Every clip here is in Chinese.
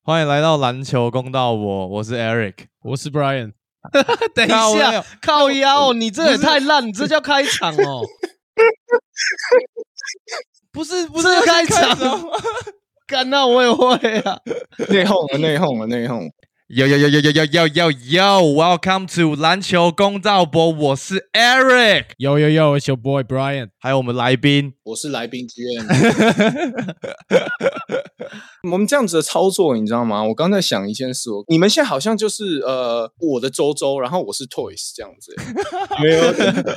欢迎来到篮球公道我是 Eric， 我是 Brian。 等一下，靠腰，你这也太烂，你这叫开场哦？ 不是这开场哦？干那我也会啊！ 内讧。 Welcome to 篮球公道博，我是 Eric， It's your boy Brian， 还有我们来宾， 我是来宾 GM。我们这样子的操作，你知道吗？我刚才想一件事，你们现在好像就是我的周，然后我是 Toys 这样子。 没有，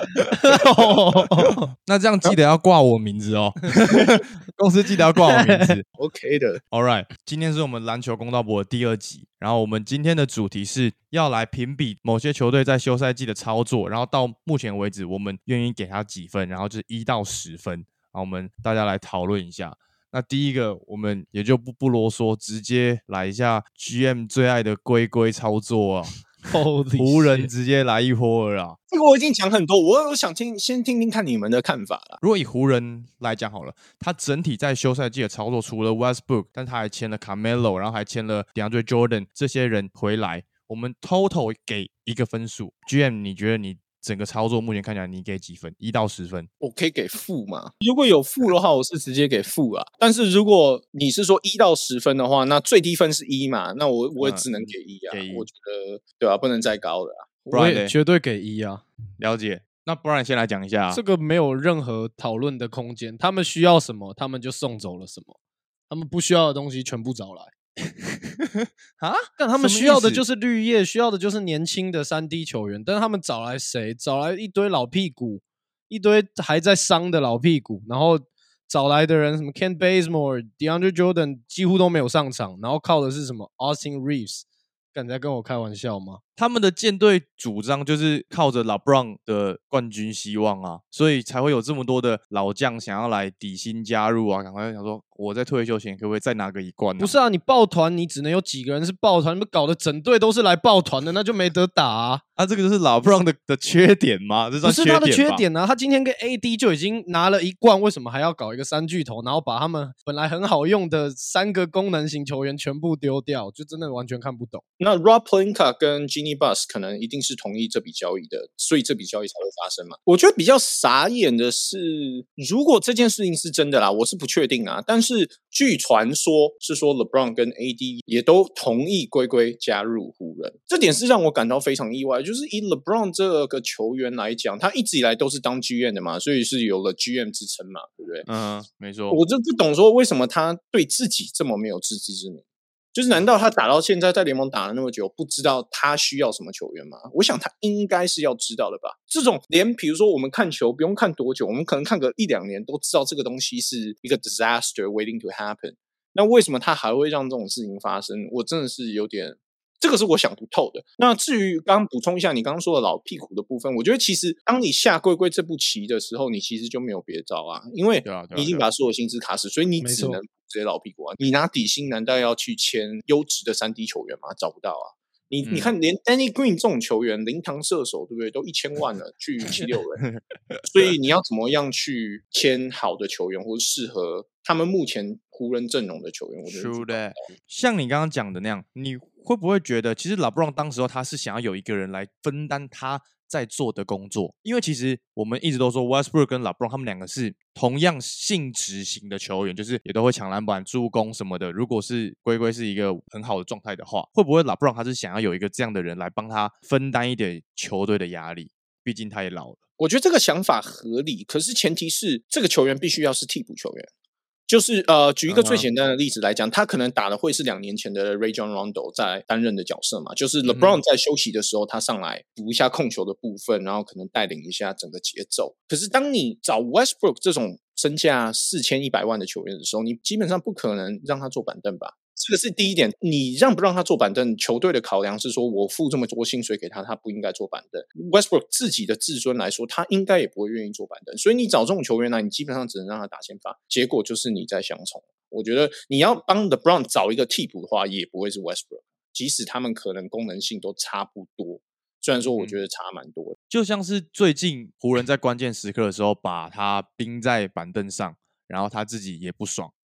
那这样记得要挂我名字哦，公司记得要挂我名字。 OK 的 ，All right， 今天是我们篮球公道博的第2集，然后我们今天的主题是要来评比某些球队在休赛季的操作，然后到目前为止，我们愿意给他几分，然后就是1到10分，然后我们大家来讨论一下。那第一个，我们也就不啰嗦，直接来一下 GM 最爱的龟操作啊！湖人直接来一波了啊！ 这个我已经讲很多，我想先听听看你们的看法啦。 如果以湖人来讲好了，他整体在休赛季的操作，除了 Westbrook， 但他还签了 Carmelo， 然后还签了 DeAndre Jordan 这些人回来，我们 total 给一个分数。GM， 你觉得你整个操作目前看起来你给几分？1到10分？ 我可以给负嘛？如果有负的话，我是直接给负啊。但是如果你是说1到10分的话，那最低分是1嘛？那我也只能给1啊。 给1， 我觉得对啊，不能再高了啊。 我也绝对给1啊。 了解。那不然先来讲一下， 这个没有任何讨论的空间。他们需要什么，他们就送走了什么；他们不需要的东西全部找来。 啊？ 但他们需要的就是绿叶，需要的就是年轻的3D 球员。但是他们找来谁？找来一堆老屁股，一堆还在伤的老屁股，然后找来的人什么 Kent Bazemore、DeAndre Jordan 几乎都没有上场，然后靠的是什么 Austin Reeves？ 敢在跟我开玩笑吗？ 他们的舰队主张就是靠着 LeBron 的冠军希望啊，所以才会有这么多的老将想要来底薪加入啊，赶快想说我在退休前可不可以再拿个1冠啊？ 不是啊，你抱团你只能有几个人是抱团，你们搞得整队都是来抱团的，那就没得打啊！ 啊，这个就是 LeBron 的缺点吗？这不是他的缺点啊， 他今天跟 AD 就已经拿了1冠，为什么还要搞一个3巨头，然后把他们本来很好用的3个功能型球员全部丢掉，就真的完全看不懂。 那 Rob Pelinka 跟 Jeanie Buss 可能一定是同意这笔交易的，所以这笔交易才会发生嘛。我觉得比较傻眼的是，如果这件事情是真的啦，我是不确定啊。但是据传说是说 LeBron 跟 AD 也都同意龟加入湖人，这点是让我感到非常意外。就是以 LeBron 这个球员来讲，他一直以来都是当 GM 的嘛，所以是有了 GM 之称嘛，对不对？ 嗯，没错。 我就不懂说为什么他对自己这么没有自知之明。就是难道他打到现在在联盟打了那么久，不知道他需要什么球员吗？我想他应该是要知道的吧。这种连比如说我们看球不用看多久，我们可能看个1-2年都知道这个东西是一个 disaster waiting to happen。那为什么他还会让这种事情发生？我真的是有点，这个是我想不透的。那至于刚刚补充一下你刚刚说的老屁股的部分，我觉得其实当你下龟这步棋的时候，你其实就没有别招啊，因为你已经把所有薪资卡死，所以你只能这些老屁股啊，你拿底薪难道要去签优质的3D 球员吗？找不到啊。你看，连 Danny Green 这种球员，灵堂射手，对不对？都1000万了，去76人，所以你要怎么样去签好的球员，或者适合他们目前湖人阵容的球员？我觉得像你刚刚讲的那样，你会不会觉得，其实 LeBron 当时候他是想要有一个人来分担他在做的工作？因为其实我们一直都说 Westbrook 跟 LeBron 他们2个是同样性质型的球员，就是也都会抢篮板、助攻什么的。如果是龟是一个很好的状态的话，会不会 LeBron 他是想要有一个这样的人来帮他分担一点球队的压力？毕竟他也老了。 我觉得这个想法合理，可是前提是这个球员必须要是替补球员。就是举一个最简单的例子来讲，他可能打的会是2年前的 Rajon Rondo 在担任的角色嘛，就是 LeBron 在休息的时候，他上来补一下控球的部分，然后可能带领一下整个节奏。可是当你找 Westbrook 这种身价4100万的球员的时候，你基本上不可能让他坐板凳吧。这个是第一点，你让不让他坐板凳，球队的考量是说我付这么多薪水给他，他不应该坐板凳。Westbrook 自己的自尊来说，他应该也不会愿意坐板凳，所以你找这种球员来，你基本上只能让他打先发，结果就是你在相冲。我觉得你要帮 LeBron 找一个替补的话，也不会是 Westbrook， 即使他们可能功能性都差不多，虽然说我觉得差蛮多的。 就像是最近湖人在关键时刻的时候把他冰在板凳上，然后他自己也不爽，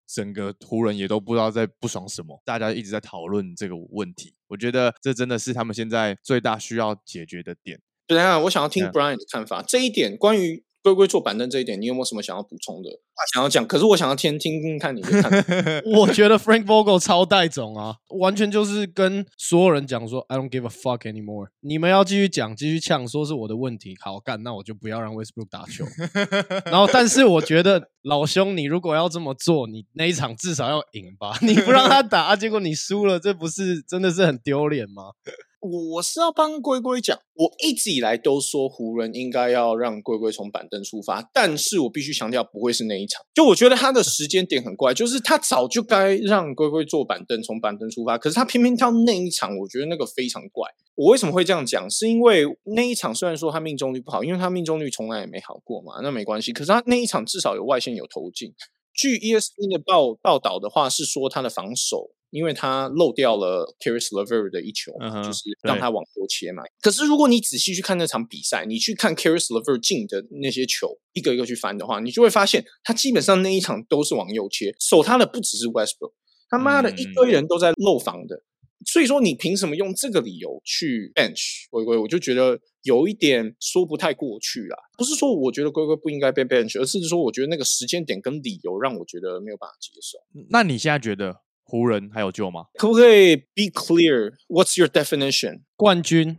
整个湖人也都不知道在不爽什么，大家一直在讨论这个问题。我觉得这真的是他们现在最大需要解决的点。 等一下，我想要听 Brian 的看法。这一点关于龟龟坐板凳这一点，你有没有什么想要补充的？想要讲，可是我想要听看你的看法。 我觉得 Frank Vogel 超带种啊，完全就是跟所有人讲说 I don't give a fuck anymore。你们要继续讲，继续呛，说是我的问题，好干，那我就不要让 Westbrook 打球。然后，但是我觉得老兄，你如果要这么做，你那一场至少要赢吧？你不让他打，结果你输了，这不是真的是很丢脸吗？ 我是要帮龟龟讲，我一直以来都说湖人应该要让龟龟从板凳出发，但是我必须强调不会是那一场。就我觉得他的时间点很怪，就是他早就该让龟龟坐板凳从板凳出发，可是他偏偏挑那一场，我觉得那个非常怪。我为什么会这样讲？是因为那一场虽然说他命中率不好，因为他命中率从来也没好过嘛，那没关系。可是他那一场至少有外线有投进。据 ESPN 的报道的话，是说他的防守。因为他漏掉了 Caris LeVert 的一球嘛，就是让他往右切嘛。可是如果你仔细去看那场比赛，你去看 Caris LeVert 进的那些球，一个一个去翻的话，你就会发现他基本上那一场都是往右切，守他的不只是 Westbrook， 他妈的一堆人都在漏防的。所以说你凭什么用这个理由去 bench 龟龟？我就觉得有一点说不太过去啦。不是说我觉得龟龟不应该被 bench， 而是说我觉得那个时间点跟理由让我觉得没有办法接受。 那你现在觉得湖人还有救吗？ 可不可以 be clear? What's your definition? 冠军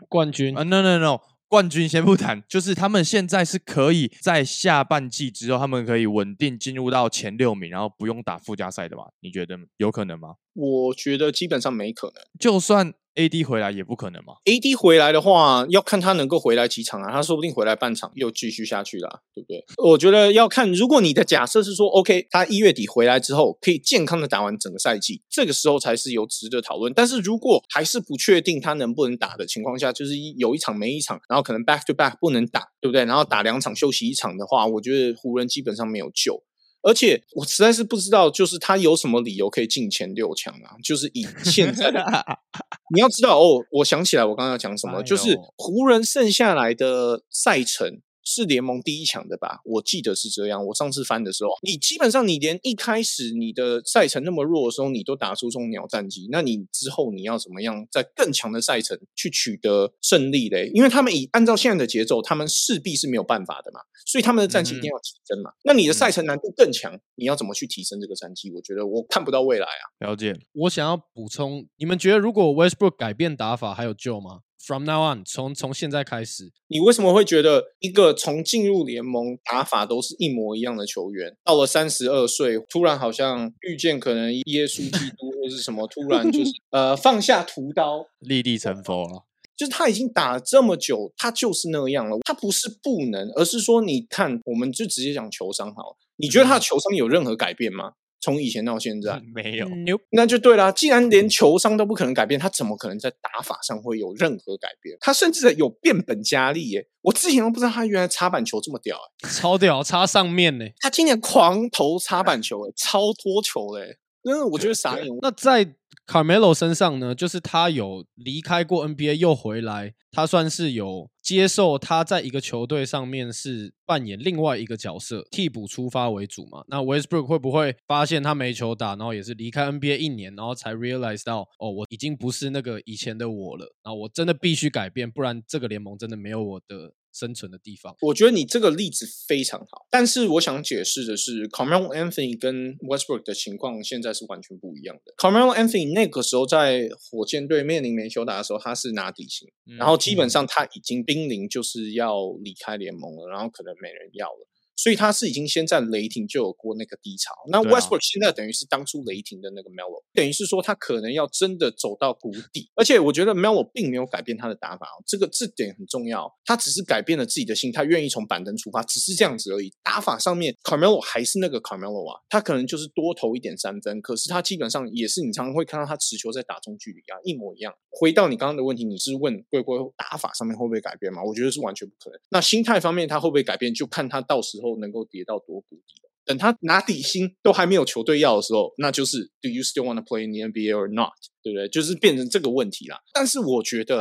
No， 冠军先不谈，就是他们现在是可以在下半季之后，他们可以稳定进入到前6名，然后不用打附加赛的吗？你觉得有可能吗？ 我觉得基本上没可能。 就算 AD 回来也不可能吗？ AD 回来的话，要看他能够回来几场啊，他说不定回来半场又继续下去啦，对不对？我觉得要看，如果你的假设是说 OK， 他1月底回来之后可以健康的打完整个赛季，这个时候才是有值得讨论。但是如果还是不确定他能不能打的情况下，就是有一场没一场，然后可能 back to back 不能打，对不对？然后打2场休息1场的话，我觉得湖人基本上没有救。而且我实在是不知道，就是他有什么理由可以进前6强啊？就是以现在的，你要知道哦，我想起来我刚刚要讲什么，就是湖人剩下来的赛程是联盟第1强的吧？我记得是这样。我上次翻的时候，你基本上你连一开始你的赛程那么弱的时候，你都打出这种鸟战绩，那你之后你要怎么样在更强的赛程去取得胜利嘞？因为他们按照现在的节奏，他们势必是没有办法的嘛，所以他们的战绩一定要提升嘛。那你的赛程难度更强，你要怎么去提升这个战绩？我觉得我看不到未来啊。 了解。 我想要补充，你们觉得如果 Westbrook 改变打法还有救吗？From now on， 从现在开始， 你为什么会觉得一个从进入联盟打法都是一模一样的球员，到了32岁，突然好像遇见可能耶稣基督或是什么，突然就是放下屠刀， 立地成佛了。 就是他已经打了这么久，他就是那样了。他不是不能，而是说你看，我们就直接讲球商好了。你觉得他的球商有任何改变吗？从以前到现在没有， 那就对啦。既然连球商都不可能改变，他怎么可能在打法上会有任何改变？他甚至有变本加厉耶！我之前都不知道他原来插板球这么屌耶， 超屌，插上面呢。 他今年狂投插板球耶，超多球嘞，真的我觉得傻眼。 那在 Carmelo 身上呢，就是他有离开过 NBA 又回来，他算是有接受他在一个球队上面是扮演另外一个角色，替补出发为主嘛。那 Westbrook 会不会发现他没球打，然后也是离开 NBA 1年，然后才 realize 到哦，我已经不是那个以前的我了，然后我真的必须改变，不然这个联盟真的没有我的生存的地方。 我觉得你这个例子非常好，但是我想解释的是 Carmelo Anthony 跟 Westbrook 的情况现在是完全不一样的。Carmelo Anthony 那个时候在火箭队面临没球打的时候，他是拿底薪，然后基本上他已经濒临就是要离开联盟了，然后可能没人要了。所以他是已经先在雷霆就有过那个低潮，那 Westbrook 现在等于是当初雷霆的那个 Melo， 等于是说他可能要真的走到谷底，而且我觉得 Melo 并没有改变他的打法，这点很重要，他只是改变了自己的心态，愿意从板凳出发，只是这样子而已。打法上面 Carmelo 还是那个 Carmelo 啊，他可能就是多投一点3分，可是他基本上也是你常常会看到他持球在打中距离啊，一模一样。回到你刚刚的问题，你是问龟龟打法上面会不会改变吗？我觉得是完全不可能。那心态方面他会不会改变，就看他到时候能够跌到多谷底。等他拿底薪都还没有球队要的时候，那就是 Do you still want to play in the NBA or not？ 对不对？就是变成这个问题啦。但是我觉得啦，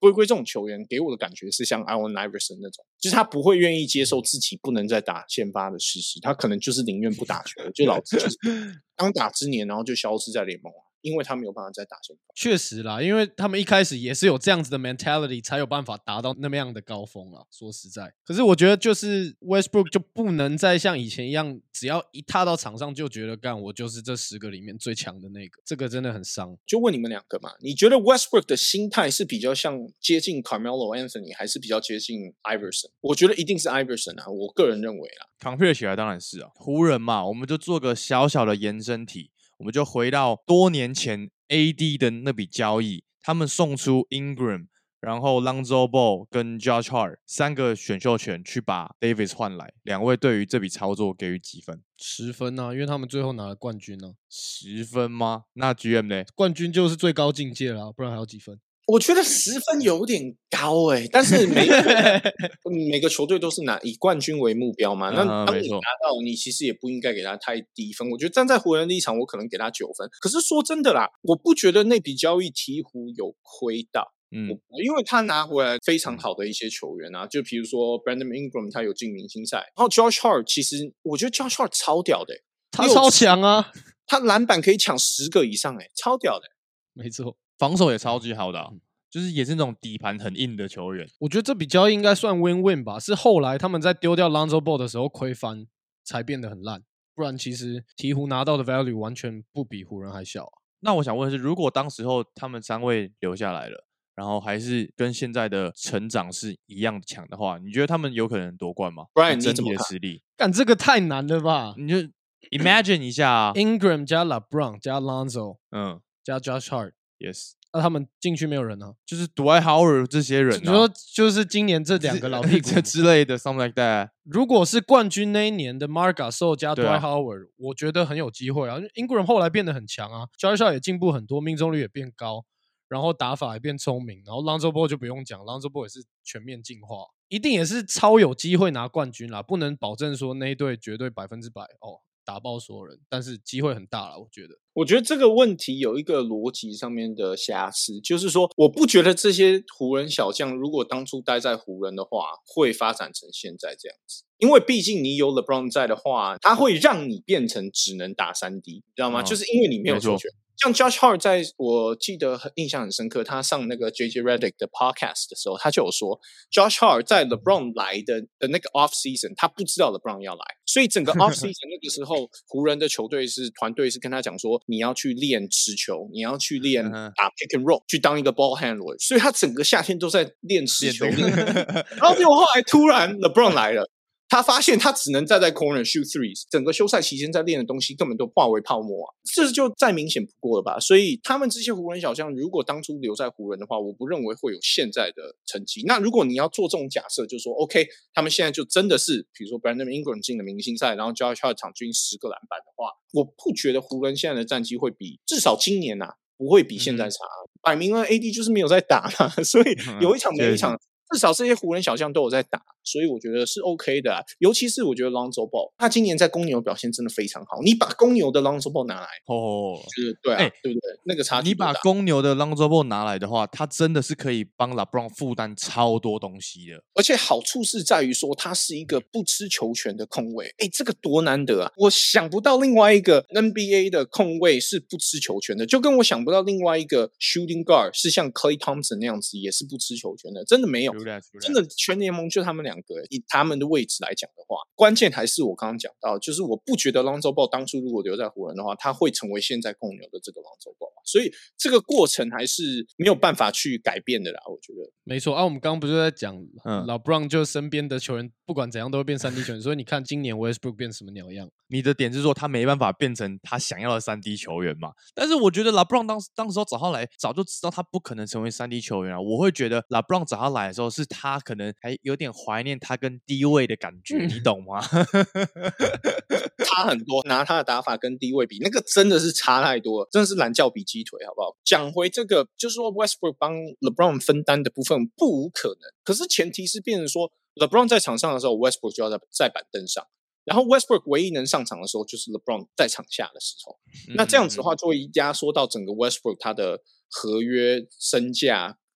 龟龟这种球员给我的感觉是像 Allen Iverson 那种，就是他不会愿意接受自己不能再打先发的事实，他可能就是宁愿不打球，就老子就是当打之年，然后就消失在联盟了。因为他没有办法再打先发。 确实啦，因为他们一开始也是有这样子的 mentality， 才有办法达到那么样的高峰啦。说实在，可是我觉得就是 Westbrook 就不能再像以前一样，只要一踏到场上就觉得干我就是这10个里面最强的那个，这个真的很伤。 就问你们两个嘛，你觉得 Westbrook 的心态是比较像接近 Carmelo Anthony， 还是比较接近 Iverson？ 我觉得一定是 Iverson 啊，我个人认为啦。 compare 起来当然是啊，湖人嘛，我们就做个小小的延伸题。我们就回到多年前 AD 的那笔交易，他们送出 Ingram， 然后 Lonzo Ball 跟 Josh Hart 3个选秀权去把 Davis 换来，两位对于这笔操作给予几分 ？10分啊，因为他们最后拿了冠军啊。 10分吗？那 GM 呢？ 冠军就是最高境界啦，不然还有几分？ 我觉得10分有点高但是每个球队都是以冠军为目标嘛。那当你拿到，你其实也不应该给他太低分。我觉得站在湖人立场，我可能给他9分。可是说真的啦，我不觉得那笔交易鹈鹕有亏到。因为他拿回来非常好的一些球员啊，就比如说 Brandon Ingram 他有进明星赛，然后 Josh Hart 其实我觉得 Josh Hart 超屌的他超强啊， 他篮板可以抢10个以上超屌的没错。 防守也超级好的就是也是那种底盘很硬的球员。 我觉得这笔交易应该算 win-win 吧，是后来他们在丢掉 Lonzo Ball 的时候亏翻，才变得很烂。不然其实鹈鹕拿到的 value 完全不比湖人还小啊。 那我想问的是，如果当时候他们3位留下来了，然后还是跟现在的成长是一样强的话，你觉得他们有可能夺冠吗？ Brian 整体的实力， 干这个太难了吧？ 你就 imagine 一下啊 ，Ingram 加 LeBron 加 Lonzo， 加 Josh Hart，yes。那他们禁区没有人啊， 就是 Dwight Howard 这些人， 你说就是今年这2个老屁股之类的 ，something like that。 如果是冠军那一年的 Marc Gasol 加 Dwight Howard，我觉得很有机会啊。Ingram 后来变得很强啊 ，Josh Hart 也进步很多，命中率也变高，然后打法也变聪明，然后 Lonzo Ball 就不用讲 ，Lonzo Ball 也是全面进化，一定也是超有机会拿冠军啦。不能保证说那一队绝对100%打爆所有人，但是机会很大啦，我觉得。 我觉得这个问题有一个逻辑上面的瑕疵，就是说，我不觉得这些湖人小将如果当初待在湖人的话，会发展成现在这样子。因为毕竟你有 LeBron 在的话，他会让你变成只能打3D， 你知道吗？就是因为你没有球权。像 Josh Hart 在我记得印象很深刻，他上那个 JJ Redick 的 podcast 的时候，他就有说 Josh Hart 在 LeBron 来的那个 off season， 他不知道 LeBron 要来，所以整个 off season 那个时候，湖人的球队团队是跟他讲说，你要去练持球，你要去练打 pick and roll， 去当一个 ball handler， 所以他整个夏天都在练持球，然后结果后来突然 LeBron 来了。他发现他只能站在 corner shoot threes， 整个休赛期间在练的东西根本都化为泡沫啊，这就再明显不过了吧。所以他们这些湖人小将，如果当初留在湖人的话，我不认为会有现在的成绩。那如果你要做这种假设，就说 OK， 他们现在就真的是，比如说 Brandon Ingram 进了明星赛，然后 Josh Hart 场均10个篮板的话，我不觉得湖人现在的战绩会比至少今年不会比现在差。摆明了 AD 就是没有在打嘛，所以有一场没一场。至少这些湖人小将都有在打，所以我觉得是 OK 的尤其是我觉得 Lonzo Ball， 他今年在公牛表现真的非常好。你把公牛的 Lonzo Ball 拿来，就是对对不对？那个差距。 你把公牛的 Lonzo Ball 拿来的话，他真的是可以帮 LeBron 负担超多东西的。 而且好处是在于说，他是一个不吃球权的控卫。这个多难得啊！我想不到另外一个 NBA 的控卫是不吃球权的，就跟我想不到另外一个 shooting guard 是像 Klay Thompson 那样子也是不吃球权的，真的没有。真的全联盟就他们2个，以他们的位置来讲的话，关键还是我刚刚讲到，就是我不觉得 Lonzo Ball 当初如果留在湖人的话，他会成为现在公牛的这个 Lonzo Ball， 所以这个过程还是没有办法去改变的啦，我觉得。 没错我们刚刚不是在讲老 Brown 就身边的球员不管怎样都会变3D 球员，所以你看今年 Westbrook 变什么鸟样？ 你的点是说他没办法变成他想要的3D 球员嘛？但是我觉得 LeBron 当时候找他来，早就知道他不可能成为3D 球员啊。我会觉得 LeBron 找他来的时候，是他可能还有点怀念他跟低位的感觉，你懂吗？ 差很多，拿他的打法跟低位比，那个真的是差太多了，真的是懒觉比鸡腿，好不好？讲回这个，就是说 Westbrook 帮 LeBron 分担的部分不无可能，可是前提是变成说 LeBron 在场上的时候 ，Westbrook 就要在板凳上。然后 Westbrook 唯一能上场的时候就是 LeBron 在场下的时候，那这样子的话就会压缩到整个 Westbrook 他的合约身价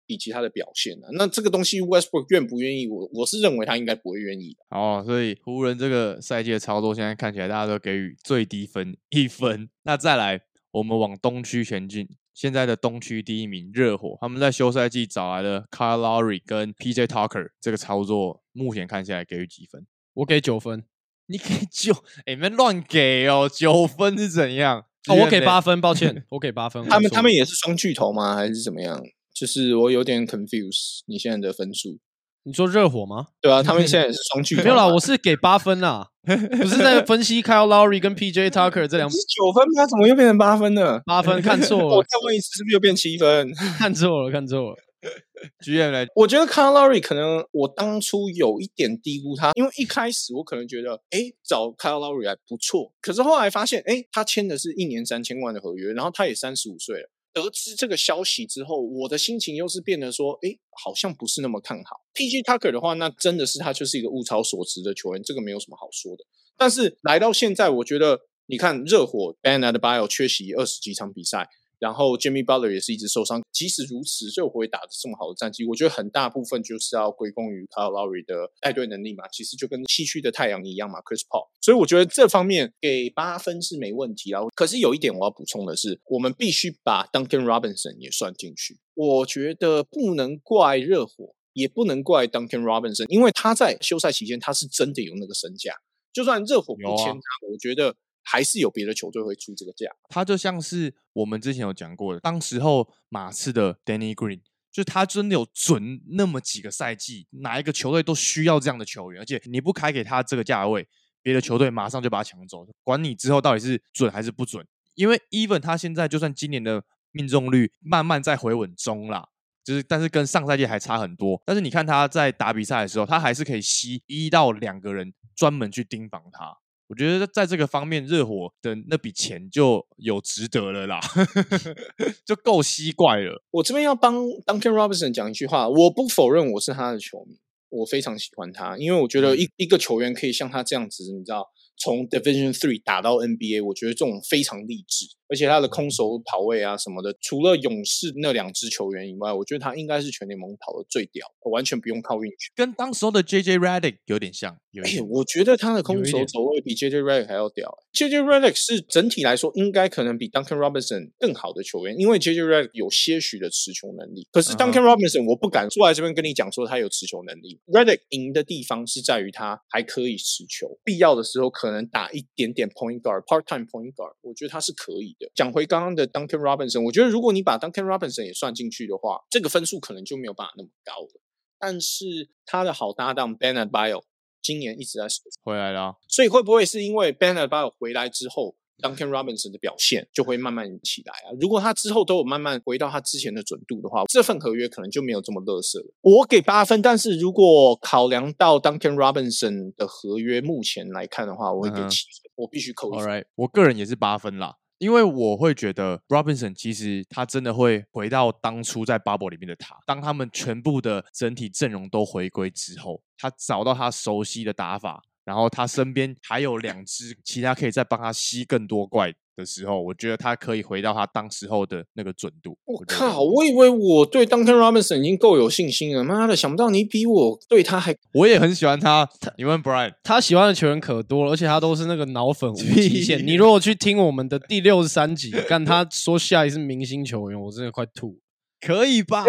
以及他的表现啊。那这个东西 Westbrook 愿不愿意，我是认为他应该不会愿意的。 哦，所以湖人这个赛季的操作，现在看起来大家都给予最低分1分。那再来，我们往东区前进。现在的东区第1名热火，他们在休赛季找来了 Kyle Lowry 跟 PJ Tucker， 这个操作目前看下来给予几分？ 我给9分。 你给9？你们乱给哦，9分是怎样？ 我给8分，抱歉，我给8分。 他们也是双巨头吗？还是怎么样？就是我有点 confuse 你现在的分数。 你说热火吗？ 对啊，他们现在也是双巨头。 没有啦，我是给8分啦，不是在分析 Kyle Lowry 跟 PJ Tucker 这两。 是9分吗？怎么又变成8分了 ？8分，看错了。 我再问一次，是不是又变7分？ 看错了，看错了。 GM 来， 我觉得 Kyle Lowry 可能我当初有一点低估他，因为一开始我可能觉得，找 Kyle Lowry 还不错，可是后来发现，他签的是1年3000万的合约，然后他也35岁了。得知这个消息之后，我的心情又是变得说，好像不是那么看好。PG Tucker 的话，那真的是他就是一个物超所值的球员，这个没有什么好说的。但是来到现在，我觉得你看热火 Bam Adebayo 缺席20几场比赛，然后 Jimmy Butler 也是一直受伤。即使如此，热火也打得这么好的战绩，我觉得很大部分就是要归功于 Kyle Lowry 的带队能力嘛。其实就跟西区的太阳一样嘛 ，Chris Paul。所以我觉得这方面给8分是没问题啦。可是有一点我要补充的是，我们必须把 Duncan Robinson 也算进去。我觉得不能怪热火，也不能怪 Duncan Robinson， 因为他在休赛期间他是真的有那个身价。就算热火不签他，我觉得还是有别的球队会出这个价。 他就像是我们之前有讲过的，当时候马刺的 Danny Green， 就是他真的有准那么几个赛季，哪一个球队都需要这样的球员，而且你不开给他这个价位，别的球队马上就把他抢走，管你之后到底是准还是不准。因为 even 他现在就算今年的命中率慢慢在回稳中啦，但是跟上赛季还差很多。但是你看他在打比赛的时候，他还是可以吸1到2个人专门去盯防他。我觉得在这个方面，热火的那笔钱就有值得了啦，就够吸怪了。 我这边要帮 Duncan Robinson 讲一句话，我不否认我是他的球迷，我非常喜欢他，因为我觉得一个球员可以像他这样子，你知道，从 Division 3打到 NBA， 我觉得这种非常励志。而且他的空手跑位啊什么的，除了勇士那2支球员以外，我觉得他应该是全联盟跑的最屌，完全不用靠运气。 跟当时候的 JJ Redick 有点像。 我觉得他的空手走位比 JJ Redick 还要屌。JJ Redick 是整体来说应该可能比 Duncan Robinson 更好的球员，因为 JJ Redick 有些许的持球能力。可是 Duncan Robinson 我不敢坐在这边跟你讲说他有持球能力。Redick 赢的地方是在于他还可以持球，必要的时候可能打一点点 point guard、part-time point guard， 我觉得他是可以的。讲回刚刚的 Duncan Robinson， 我觉得如果你把 Duncan Robinson 也算进去的话，这个分数可能就没有办法那么高了。但是他的好搭档 Bam Adebayo 今年一直在回来了， 所以会不会是因为 Bam Adebayo 回来之后 Duncan Robinson 的表现就会慢慢起来啊？如果他之后都有慢慢回到他之前的准度的话，这份合约可能就没有这么垃圾了。我给8分，但是如果考量到 Duncan Robinson 的合约目前来看的话，我会给7分，我必须扣1分。 Alright， 我个人也是8分啦。因为我会觉得 Robinson 其实他真的会回到当初在 Bubble 里面的他，当他们全部的整体阵容都回归之后，他找到他熟悉的打法，然后他身边还有2支其他可以再帮他吸更多怪的时候，我觉得他可以回到他当时候的那个准度。 我靠，我以为我对 Duncan Robinson 已经够有信心了，妈的，想不到你比我对他还…… 我也很喜欢他。你问 Brian， 他喜欢的球员可多了，而且他都是那个脑粉无极限。你如果去听我们的第63集，干他说 Shy 是明星球员，我真的快吐。 可以吧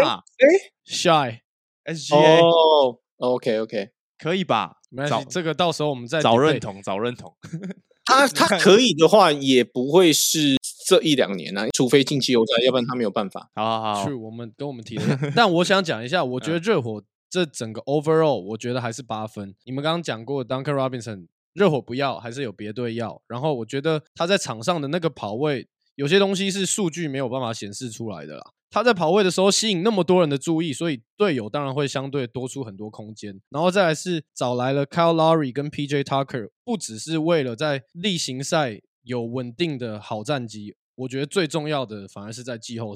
？Shy SGA 哦 ，OK， 可以吧？ 没关系，这个到时候我们再找认同。 他可以的话，也不会是这1-2年啊，除非进季后赛，要不然他没有办法。 好， 是我们提的。但我想讲一下，我觉得热火这整个 overall， 我觉得还是8分。你们刚刚讲过 Duncan Robinson， 热火不要，还是有别队要。然后我觉得他在场上的那个跑位，有些东西是数据没有办法显示出来的啦。他在跑位的时候吸引那么多人的注意，所以队友当然会相对多出很多空间。然后再来是找来了 Kyle Lowry 跟 PJ Tucker， 不只是为了在例行赛有稳定的好战绩，我觉得最重要的反而是在季后赛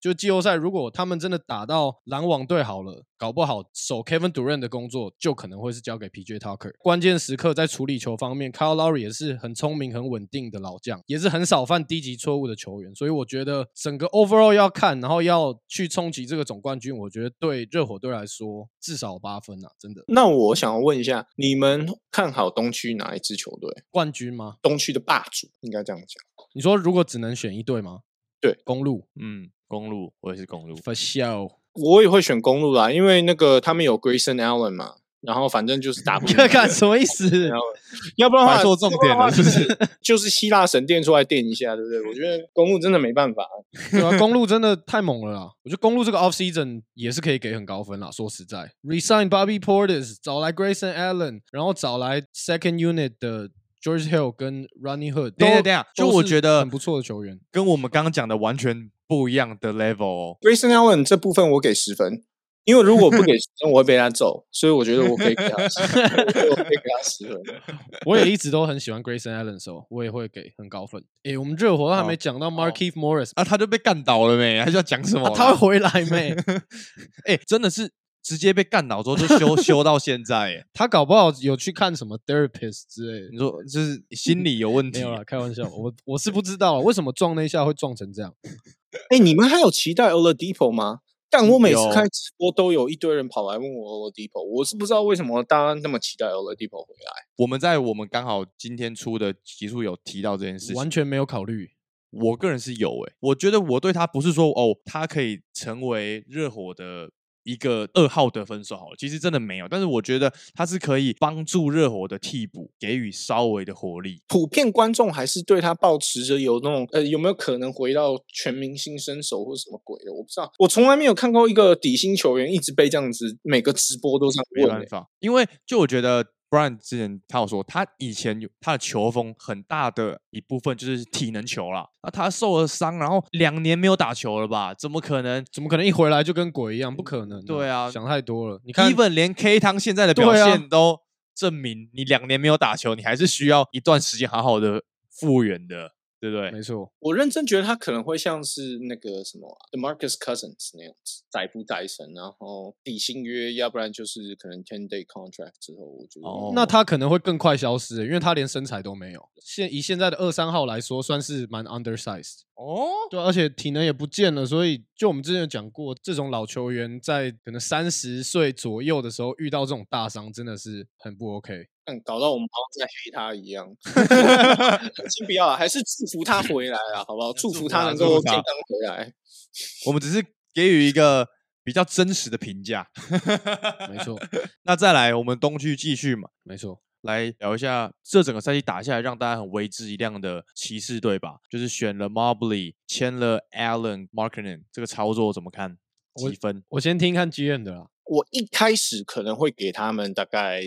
就季后赛，如果他们真的打到篮网队好了，搞不好守 Kevin Durant 的工作就可能会是交给 PJ Tucker。关键时刻在处理球方面 ，Kyle Lowry 也是很聪明、很稳定的老将，也是很少犯低级错误的球员。所以我觉得整个 overall 要看，然后要去冲击这个总冠军，我觉得对热火队来说至少8分啊，真的。 那我想要问一下，你们看好东区哪一支球队？ 冠军吗？ 东区的霸主应该这样讲。 你说如果只能选一队吗？ 对， 公路。 公路，我也是公路。 For sure， 我也会选公路啦，因为那个他们有 Grayson Allen 嘛，然后反正就是打不赢。 看什么意思？ 要不然的话摆错重点了，是不是？ 就是希腊神殿出来垫一下，对不对？我觉得公路真的没办法。 对啊，公路真的太猛了啦！我觉得公路这个 off season 也是可以给很高分啦。说实在 ，resign Bobby Portis， 找来 Grayson Allen， 然后找来 second unit 的 George Hill 跟 Rodney Hood， 等一下，就我觉得很不错的球员， 跟我们刚刚讲的完全不一样的 level 哦。 Grayson Allen 这部分我给10分，因为如果不给10分，我会被他揍，所以我觉得我可以给他10分，我可以给他10分。 我也一直都很喜欢 Grayson Allen 的时候，我也会给很高分。诶，我们热火还没讲到 Markieff Morris 啊，他就被干倒了没？他就要讲什么、 他会回来没？ 真的是直接被干倒之后就修到现在， 他搞不好有去看什么 therapist 之类的。 你说就是心理有问题？ 没有啦，开玩笑，我是不知道为什么撞那一下会撞成这样。 你们还有期待 Oladipo 吗？但我每次开直播都有一堆人跑来问我 Oladipo， 我是不知道为什么大家那么期待 Oladipo 回来。 我们刚好今天出的集数有提到这件事情， 完全没有考虑。 我个人是有我觉得我对他不是说他可以成为热火的一个2号得分手好了，其实真的没有，但是我觉得他是可以帮助热火的替补给予稍微的活力。 普遍观众还是对他抱持着有那种有没有可能回到全明星身手或什么鬼的，我不知道。我从来没有看过一个底薪球员一直被这样子每个直播都这样问。 没办法，因为就我觉得Brian 之前他有说，他以前他的球风很大的一部分就是体能球啦。那他受了伤，然后2年没有打球了吧？怎么可能一回来就跟鬼一样？不可能。 对啊， 想太多了。你看 ，even 连 K 汤现在的表现都证明，你2年没有打球，你还是需要一段时间好好的复原的。对不对？ 没错， 我认真觉得他可能会像是那个什么 DeMarcus Cousins 那样子，载浮载沉，然后底薪约，要不然就是可能 10-day contract 之后，我觉得那他可能会更快消失，因为他连身材都没有。以现在的2-3号来说，算是蛮 undersized。对，而且体能也不见了，所以就我们之前有讲过，这种老球员在可能30岁左右的时候遇到这种大伤，真的是很不 OK。 搞到我们好像在黑他一样。先不要了，还是祝福他回来啊，好不好？祝福他能够健康回来。 我们只是给予一个比较真实的评价。 没错。 那再来，我们东区继续嘛。 没错。 来聊一下这整个赛季打下来让大家很为之一亮的骑士队吧，就是选了 Mobley， 签了 Allen Markkanen， 这个操作怎么看？几分？ 我先听看 GM 的啦。 我一开始可能会给他们大概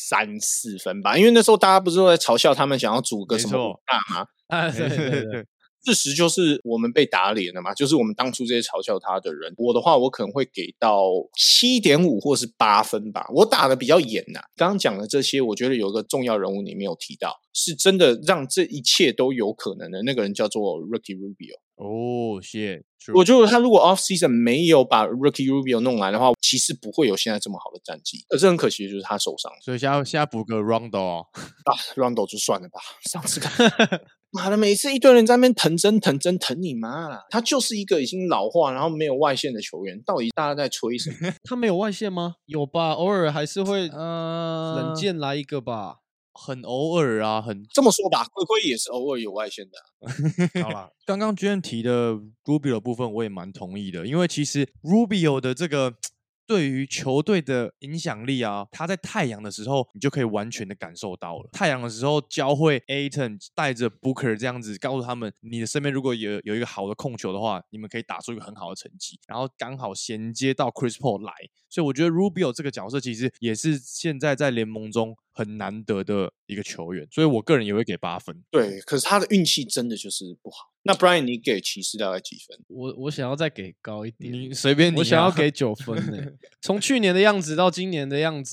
3-4分吧，因为那时候大家不是都在嘲笑他们想要组个什么大吗？ 对。 事实就是我们被打脸了嘛，就是我们当初这些嘲笑他的人。我的话，我可能会给到7.5或是8分吧。我打的比较严呐。刚刚讲的这些，我觉得有一个重要人物你没有提到，是真的让这一切都有可能的那个人叫做 Ricky Rubio。 谢。 我觉得他如果 off season 没有把 Ricky Rubio 弄来的话，其实不会有现在这么好的战绩。可是很可惜的就是他受伤， 所以现在补个 Rondo Rondo 就算了吧。上次看妈的，每次一堆人在那边疼你妈啦！他就是一个已经老化然后没有外线的球员，到底大家在吹什么？ 他没有外线吗？有吧，偶尔还是会冷箭来一个吧。 很偶尔啊， 这么说吧，龟龟也是偶尔有外线的。 好啦，刚刚 GM 提的 Rubio 的部分我也蛮同意的，因为其实 Rubio 的这个对于球队的影响力啊，他在太阳的时候你就可以完全的感受到了。太阳的时候教会 Ayton 带着 Booker 这样子告诉他们，你的身边如果有一个好的控球的话，你们可以打出一个很好的成绩，然后刚好衔接到 Chris Paul 来，所以我觉得 Rubio 这个角色其实也是现在在联盟中很难得的一个球员，所以我个人也会给8分。 对，可是他的运气真的就是不好。那 Brian 你给骑士大概几分？ 我想要再给高一点， 你随便你， 我想要给9分呢。从去年的样子到今年的样子，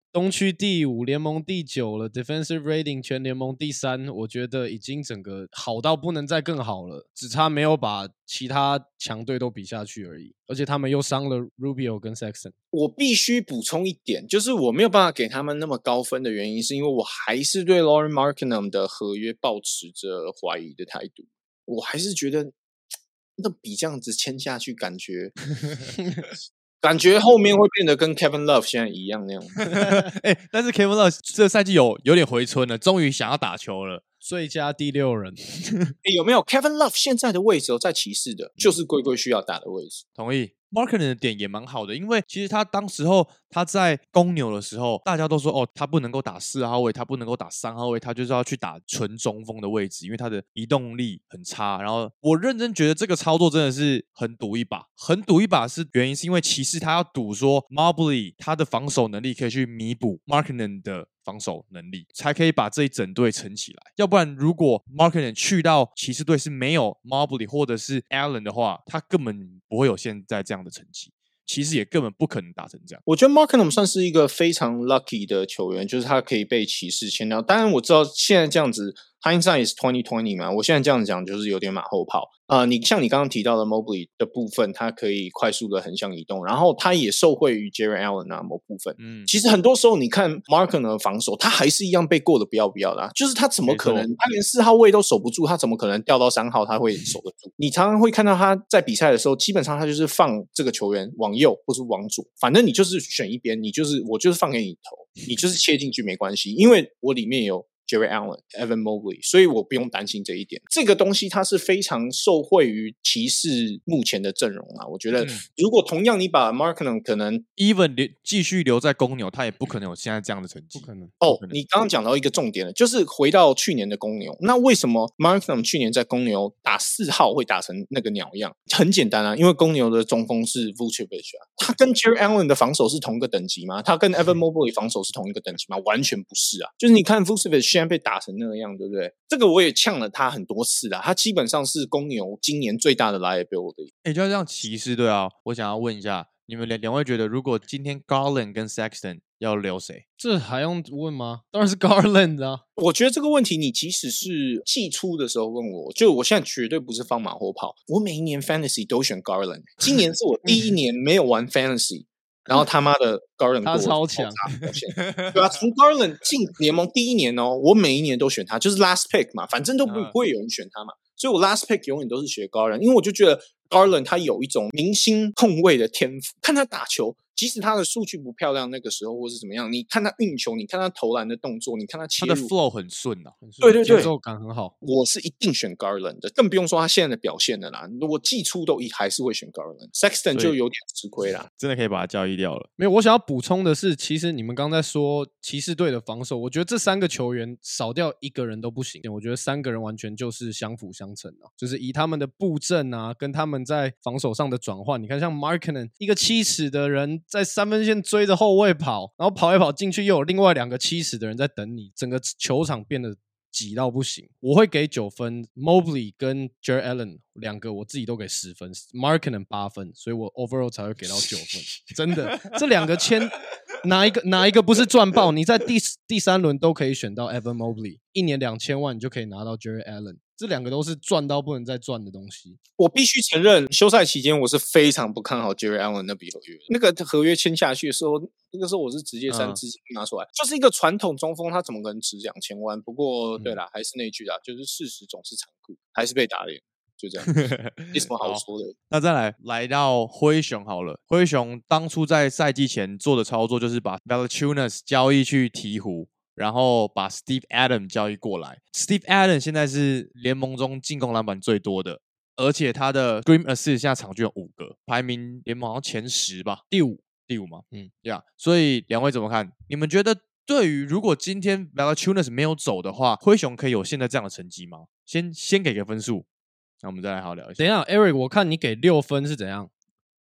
东区第5，联盟第9了 ，defensive rating 全联盟第3，我觉得已经整个好到不能再更好了，只差没有把其他强队都比下去而已。而且他们又伤了 Rubio 跟 Sexton。 我必须补充一点，就是我没有办法给他们那么高分的原因，是因为我还是对 Lauri Markkanen 的合约抱持着怀疑的态度。我还是觉得那比这样子签下去，感觉后面会变得跟 Kevin Love 现在一样那样。 但是 Kevin Love 这赛季有点回春了，终于想要打球了。 最佳第6人有没有 Kevin Love 现在的位置在骑士的，就是龟龟需要打的位置。 同意。Markkanen 的点也蛮好的，因为其实他当时候他在公牛的时候，大家都说他不能够打4号位，他不能够打3号位，他就是要去打纯中锋的位置，因为他的移动力很差。然后我认真觉得这个操作真的是很赌一把，是原因是因为骑士他要赌说 Mobley 他的防守能力可以去弥补 Markkanen 的防守能力，才可以把这一整队撑起来。要不然如果 Markkanen 去到骑士队是没有 Mobley 或者是 Allen 的话，他根本不会有现在这样的成绩，其实也根本不可能打成这样。 我觉得 Markkanen 算是一个非常 lucky 的球员，就是他可以被骑士签到。当然我知道现在这样子 hindsight is 2020 嘛，我现在这样讲就是有点马后炮。你像你刚刚提到的 Mobley 的部分，他可以快速的横向移动，然后他也受惠于 Jarrett Allen 某部分。其实很多时候你看 Markkanen 的防守，他还是一样被过得不要的就是他怎么可能，他连4号位都守不住，他怎么可能调到3号他会守得住？你常常会看到他在比赛的时候，基本上他就是放这个球员往右或是往左，反正你就是选一边，我就是放给你投，你就是切进去没关系，因为我里面有Jarrett Allen、Evan Mobley， 所以我不用担心这一点。这个东西它是非常受惠于骑士目前的阵容我觉得，如果同样你把 Markkanen 可能 even 继续留在公牛，他也不可能有现在这样的成绩。 不可能。 你刚刚讲到一个重点了，就是回到去年的公牛，那为什么 Markkanen 去年在公牛打4号会打成那个鸟样？很简单因为公牛的中锋是 Vucevic他跟 Jarrett Allen 的防守是同一个等级吗？他跟 Evan Mobley 防守是同一个等级吗？完全不是就是你看 Vucevic 现在被打成那样，对不对？这个我也呛了他很多次他基本上是公牛今年最大的 liability。 就像这样骑士队我想要问一下，你们两位觉得，如果今天 Garland 跟 Sexton 要留谁？ 这还用问吗？当然是 Garland 我觉得这个问题，你即使是季初的时候问我，就我现在绝对不是放马后炮，我每一年 Fantasy 都选 Garland， 今年是我第1年没有玩 Fantasy。然后他妈的 Garland 他超强， 对从 Garland 进联盟第1年我每一年都选他，就是 last pick 嘛，反正都不会有人选他嘛，所以我 last pick 永远都是选 Garland， 因为我就觉得 Garland 他有一种明星控卫的天赋，看他打球，即使他的数据不漂亮那个时候或是怎么样，你看他运球，你看他投篮的动作，你看他切入， 他的 flow 很顺对， 节奏感很好。 我是一定选 Garland 的，更不用说他现在的表现了啦。如果季初都还是会选 Garland，Sexton 就有点吃亏啦， 真的可以把他交易掉了。 没有，我想要补充的是，其实你们刚才说骑士队的防守，我觉得这3个球员少掉1个人都不行。我觉得3个人完全就是相辅相成就是以他们的布阵跟他们在防守上的转换，你看像 Markkanen 一个7尺的人在3分线追着后卫跑，然后跑一跑进去，又有另外2个7尺的人在等你，整个球场变得挤到不行。我会给9分 Mobley 跟 Jarrett Allen 2个我自己都给10分， Markkanen 8分，所以我 overall 才会给到9分。真的，这2个签哪一个不是赚爆？你在第3轮都可以选到 Evan Mobley， 1年2000万你就可以拿到 Jarrett Allen， 这2个都是赚到不能再赚的东西。 我必须承认，休赛期间我是非常不看好 Jarrett Allen 那笔合约。那个合约签下去的时候，那个时候我是直接3资金拿出来，就是一个传统中锋，他怎么可能值2000万？不过对啦，还是那句啦，就是事实总是残酷，还是被打脸。就这样，没什么好说的。 那再来到灰熊好了，灰熊当初在赛季前做的操作就是把 Valanciunas 交易去鹈鹕，然后把 Steve Adams 交易过来。Steve Adams 现在是联盟中进攻篮板最多的，而且他的 Screen Assist 现在场均有5个，排名联盟好像前10吧，第五嘛。所以两位怎么看？你们觉得对于如果今天 Valanciunas 没有走的话，灰熊可以有现在这样的成绩吗？先给个分数。那我们再来好好聊一下。 等一下 ，Eric， 我看你给6分是怎样？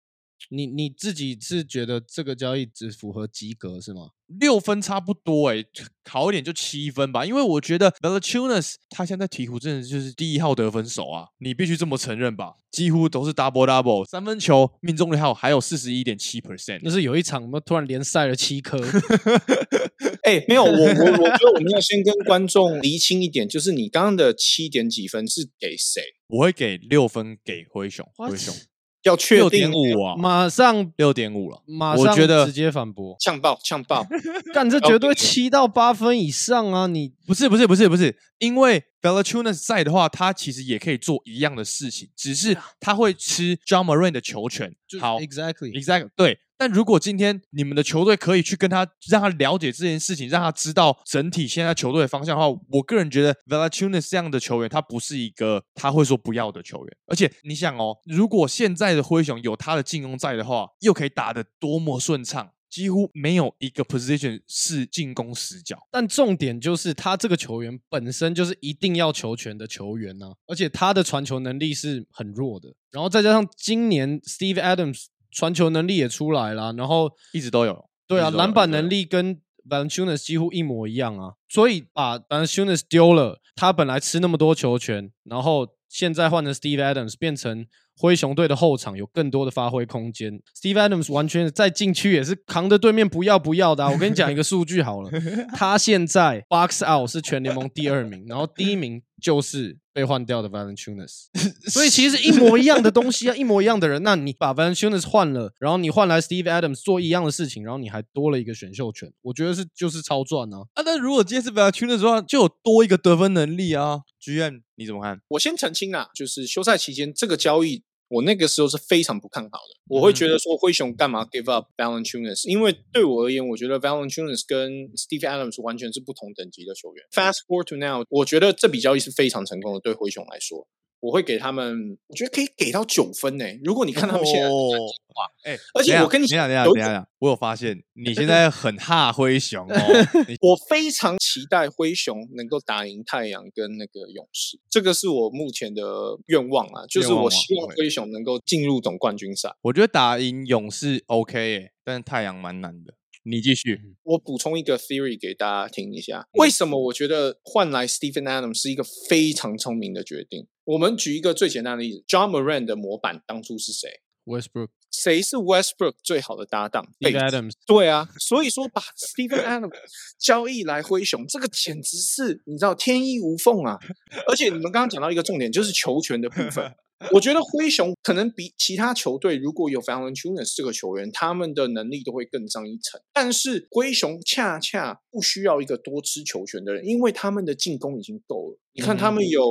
你自己是觉得这个交易只符合及格是吗 ？6分差不多好一点就7分吧，因为我觉得 Valanciunas 他现在鹈鹕真的就是第1号得分手啊，你必须这么承认吧，几乎都是 double， 三分球命中率还有 41.7%， 那是有一场突然连塞了7颗。 没有，我觉得我们要先跟观众厘清一点，就是你刚刚的7点几分是给谁？ 我会给6分给灰熊，灰熊要确定 6.5啊， 马上 6.5了， 马上我觉得直接反驳， 呛爆， 干这绝对7到8分以上啊！你不是，因为 Valanciunas 在的话，他其实也可以做一样的事情，只是他会吃 John Moran 的球权。好 ，exactly 对。但如果今天你们的球队可以去跟他，让他了解这件事情，让他知道整体现在球队的方向的话，我个人觉得 Valanciunas 这样的球员，他不是一个他会说不要的球员。而且你想哦，如果现在的灰熊有他的进攻在的话，又可以打得多么顺畅。几乎没有一个 position 是进攻死角， 但重点就是他这个球员本身就是一定要球权的球员啊，而且他的传球能力是很弱的，然后再加上今年 Steve Adams 传球能力也出来了，然后一直都有， 对啊，篮板能力跟 Valanciunas 几乎一模一样啊，所以把 Valanciunas 丢了，他本来吃那么多球权，然后现在换成 Steve Adams 变成灰熊队的后场有更多的发挥空间 ，Steve Adams 完全在禁区也是扛着对面不要的、啊。我跟你讲一个数据好了，他现在 box out 是全联盟第2名，然后第1名就是被换掉的 Valanciunas， 所以其实一模一样的东西啊，一模一样的人，那你把 Valanciunas 换了，然后你换来 Steve Adams 做一样的事情，然后你还多了一个选秀权，我觉得就是超赚啊！ 但如果今天是 Valanciunas 的话，就有多一个得分能力啊。GM 你怎么看？ 我先澄清啊，就是休赛期间这个交易，我那个时候是非常不看好的。我会觉得说灰熊干嘛 give up Valanciunas？ 因为对我而言，我觉得 Valanciunas 跟 Steve Adams 完全是不同等级的球员。Fast forward to now， 我觉得这笔交易是非常成功的，对灰熊来说。我会给他们，我觉得可以给到9分呢。如果你看他们现在的战绩的话，而且我跟你讲，等一下，我有发现你现在很哈灰熊哦。 我非常期待灰熊能够打赢太阳跟那个勇士，这个是我目前的愿望啊，就是我希望灰熊能够进入总冠军赛。 我觉得打赢勇士 OK 但是太阳蛮难的。你继续， 我补充一个 theory 给大家听一下，为什么我觉得换来 Stephen Adams 是一个非常聪明的决定。我们举一个最简单的例子 ，John Moran 的模板当初是谁 ？Westbrook。 谁是 Westbrook 最好的搭档 ？Steve Adams。 对啊，所以说把 Stephen Adams 交易来灰熊，这个简直是你知道天衣无缝啊！而且你们刚刚讲到一个重点，就是球权的部分。我觉得灰熊可能比其他球队如果有 Valanciunas 这个球员，他们的能力都会更上一层。但是灰熊恰恰不需要一个多吃球权的人，因为他们的进攻已经够了。你看他们有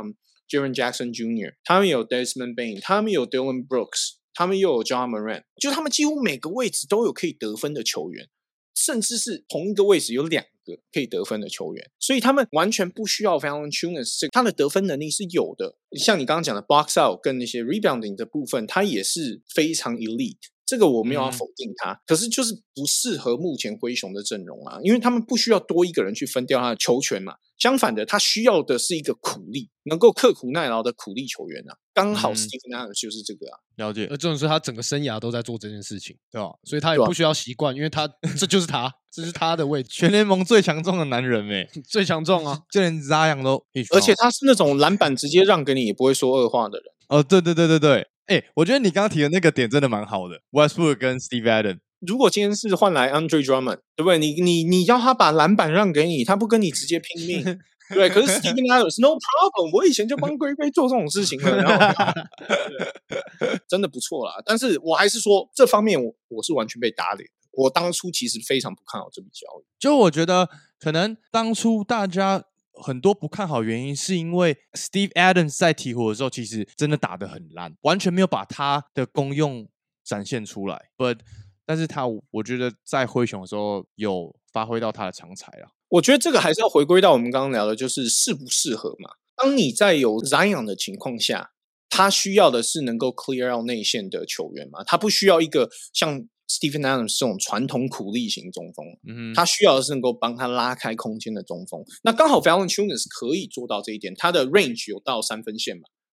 Jaren Jackson Jr.， 他们有 Desmond Bane， 他们有 Dylan Brooks， 他们又有 John Moran， 就他们几乎每个位置都有可以得分的球员，甚至是同一个位置有2个可以得分的球员，所以他们完全不需要 Valanciunas， 他的得分能力是有的。像你刚刚讲的 box out 跟那些 rebounding 的部分，他也是非常 elite。这个我没有要否定他，可是就是不适合目前灰熊的阵容啊，因为他们不需要多一个人去分掉他的球权嘛。相反的，他需要的是一个苦力，能够刻苦耐劳的苦力球员啊。刚好 Stephen Adams 就是这个啊。 了解。 而这种是他整个生涯都在做这件事情， 对吧？ 所以他也不需要习惯，因为他这就是他，这是他的位置。 全联盟最强壮的男人最强壮啊， 就连 Zion 都， 而且他是那种篮板直接让给你也不会说恶话的人。 哦，对。我觉得你刚刚提的那个点真的蛮好的 ，Westbrook 跟 Steve Adams。 如果今天是换来 Andre Drummond， 对不对？你要他把篮板让给你，他不跟你直接拼命，对。可是 Stephen Adams no problem， 我以前就帮龟龟做这种事情了，然后真的不错啦。但是我还是说这方面我是完全被打脸。我当初其实非常不看好这笔交易， 就我觉得可能当初大家很多不看好原因是因为 Steve Adams 在鹈鹕的时候其实真的打得很烂，完全没有把他的功用展现出来。但是我觉得在灰熊的时候有发挥到他的长才啊。 我觉得这个还是要回归到我们刚刚聊的，就是适不适合嘛。当你在有 Zion 的情况下，他需要的是能够 clear out 内线的球员嘛，他不需要一个像Stephen Adams 这种传统苦力型中锋，他需要的是能够帮他拉开空间的中锋。那刚好 Valanciunas 可以做到这一点，他的 range 有到3分线嘛，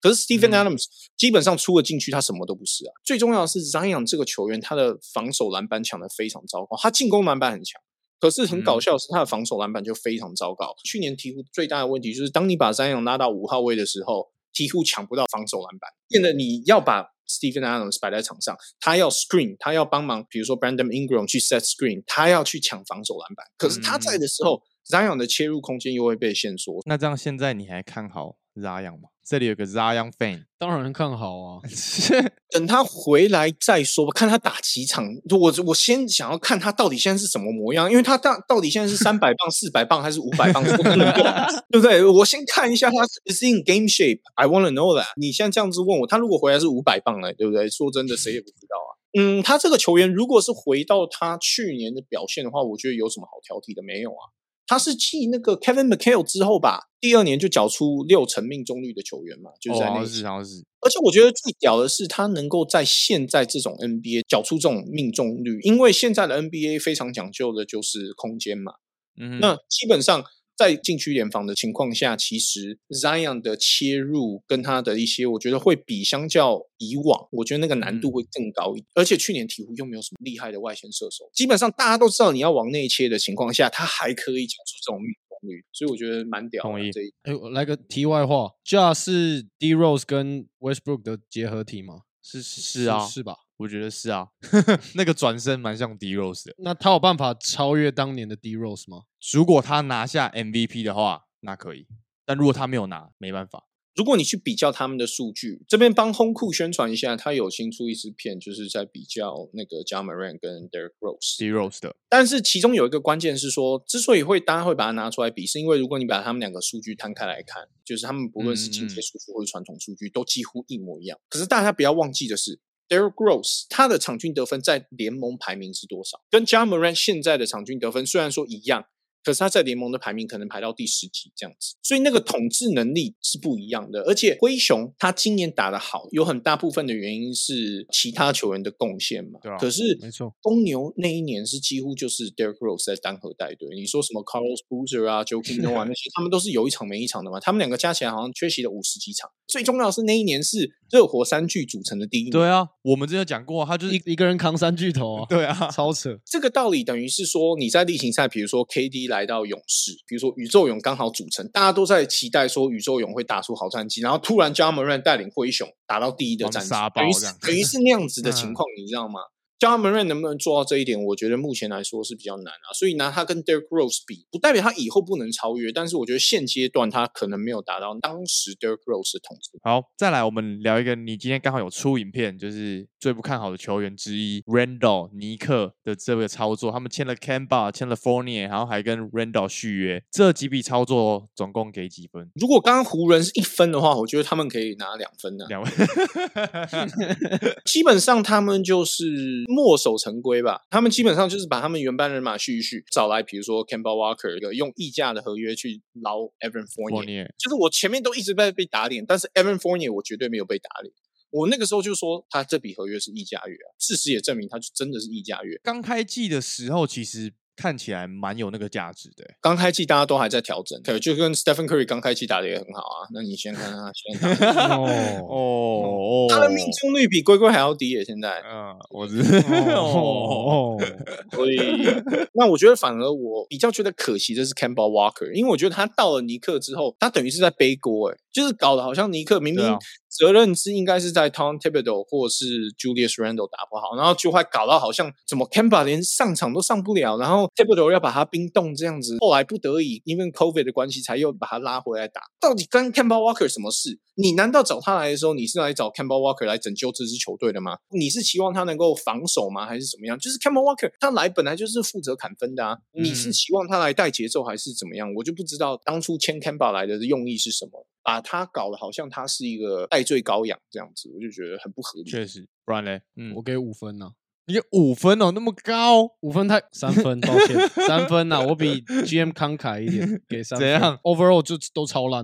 可是 Steven Adams 基本上出了禁区，他什么都不是啊。最重要的是 Zion 这个球员，他的防守篮板抢得非常糟糕，他进攻篮板很强。可是很搞笑的是，他的防守篮板就非常糟糕。去年鹈鹕最大的问题就是，当你把Zion拉到5号位的时候，鹈鹕抢不到防守篮板，变得你要把 Steven Adams 摆在场上，他要 screen， 他要帮忙，比如说 Brandon Ingram 去 set screen， 他要去抢防守篮板。可是他在的时候，Zion 的切入空间又会被限缩。 那这样现在你还看好 Zion 吗？这里有个 Zion fan， 当然看好啊。 等他回来再说吧，看他打几场。我先想要看他到底现在是什么模样，因为他到底现在是300磅、400磅还是500磅，对不对？我先看一下他 is in game shape。I want to know that。你现在这样子问我，他如果回来是500磅了，对不对？说真的，谁也不知道啊。他这个球员如果是回到他去年的表现的话，我觉得有什么好挑剔的？没有啊。他是继那个 Kevin McHale 之后吧，第2年就缴出60%命中率的球员嘛，就是在那一好像是。 而且我觉得最屌的是，他能够在现在这种 NBA 缴出这种命中率，因为现在的 NBA 非常讲究的就是空间嘛。那基本上在禁区联防的情况下，其实 Zion 的切入跟他的一些，我觉得会比相较以往，我觉得那个难度会更高一点。而且去年鹈鹕又没有什么厉害的外线射手，基本上大家都知道你要往内切的情况下，他还可以缴出这种命中率，所以我觉得蛮屌的。 我来个题外话 ，Ja 是 D Rose 跟 Westbrook 的结合体吗？ 是啊， 是吧？ 我觉得是啊，那个转身蛮像 D Rose 的。 那他有办法超越当年的 D Rose 吗？ 如果他拿下 MVP 的话，那可以；但如果他没有拿，没办法。 如果你去比较他们的数据，这边帮轰库宣传一下，他有新出一支片，就是在比较那个 Ja Morant 跟 Derrick Rose 的。 但是其中有一个关键是说，之所以大家会把它拿出来比，是因为如果你把他们2个数据摊开来看，就是他们不论是进阶数据或者传统数据，都几乎一模一样。可是大家不要忘记的是，Derrick Rose 他的场均得分在联盟排名是多少？跟 Ja Morant 现在的场均得分虽然说一样，可是他在联盟的排名可能排到第10几这样子，所以那个统治能力是不一样的。而且灰熊他今年打得好，有很大部分的原因是其他球员的贡献嘛。 对啊， 可是没错， 公牛那一年是几乎就是 Derrick Rose 在单核带队。你说什么 Carlos Boozer 啊、Joakim Noah 那些，他们都是有一场没一场的嘛。他们2个加起来好像缺席了50几场。最重要的是那一年是热火3巨组成的第一年。 对啊，我们之前有讲过，他就是一个人扛3巨头啊。 对啊， 超扯。 这个道理等于是说，你在例行赛，比如说 KD 来到勇士，比如说宇宙勇刚好组成，大家都在期待说宇宙勇会打出好战绩，然后突然 Ja Morant 带领灰熊打到第1的战绩，等于是那样子的情况，你知道吗？Ja Morant 能不能做到这一点，我觉得目前来说是比较难啊。所以拿他跟 Derrick Rose 比，不代表他以后不能超越，但是我觉得现阶段他可能没有达到当时 Derrick Rose 的统治。 好，再来我们聊一个你今天刚好有出影片，就是最不看好的球员之一 Randall 尼克的这个操作，他们签了 Kemba， 签了 Fournier， 然后还跟 Randall 续约，这几笔操作总共给几分？ 如果刚刚湖人是1分的话，我觉得他们可以拿2分啊。 2分， 基本上他们就是墨守成规吧，他们基本上就是把他们原班人马续一续，找来比如说 Kemba Walker 用溢价的合约去捞 Evan Fournier， 就是我前面都一直被打脸，但是 Evan Fournier 我绝对没有被打脸。我那个时候就说他这笔合约是溢价约啊，事实也证明他就真的是溢价约。 刚开季的时候其实看起来蛮有那个价值的。 刚开季大家都还在调整，就跟 Stephen Curry 刚开季打的也很好啊。那你先看他现在打的他的命中率比龟龟还要低耶，现在。 我知道。 所以，那我觉得反而我比较觉得可惜的是 Kemba Walker， 因为我觉得他到了尼克之后，他等于是在背锅，就是搞得好像尼克明明责任是应该是在 Tom Thibodeau 或是 Julius Randle 打不好，然后就会搞到好像怎么 Kemba 连上场都上不了，然后 Thibodeau 要把他冰冻这样子，后来不得已因为 COVID 的关系才又把他拉回来打。到底跟 Kemba Walker 什么事？你难道找他来的时候，你是来找 Kemba Walker 来拯救这支球队的吗？你是期望他能够防守吗？还是怎么样？就是 Kemba Walker 他来本来就是负责砍分的啊，你是期望他来带节奏还是怎么样？我就不知道当初签 Kemba 来的用意是什么。把他搞得好像他是一个戴罪羔羊这样子，我就觉得很不合理。 确实，不然嘞， 我给5分啊。 你给5分哦，那么高 ？5分3分，抱歉，3分啊，我比 GM 慷慨一点，给3分。 怎样 ？Overall 就都超烂啊。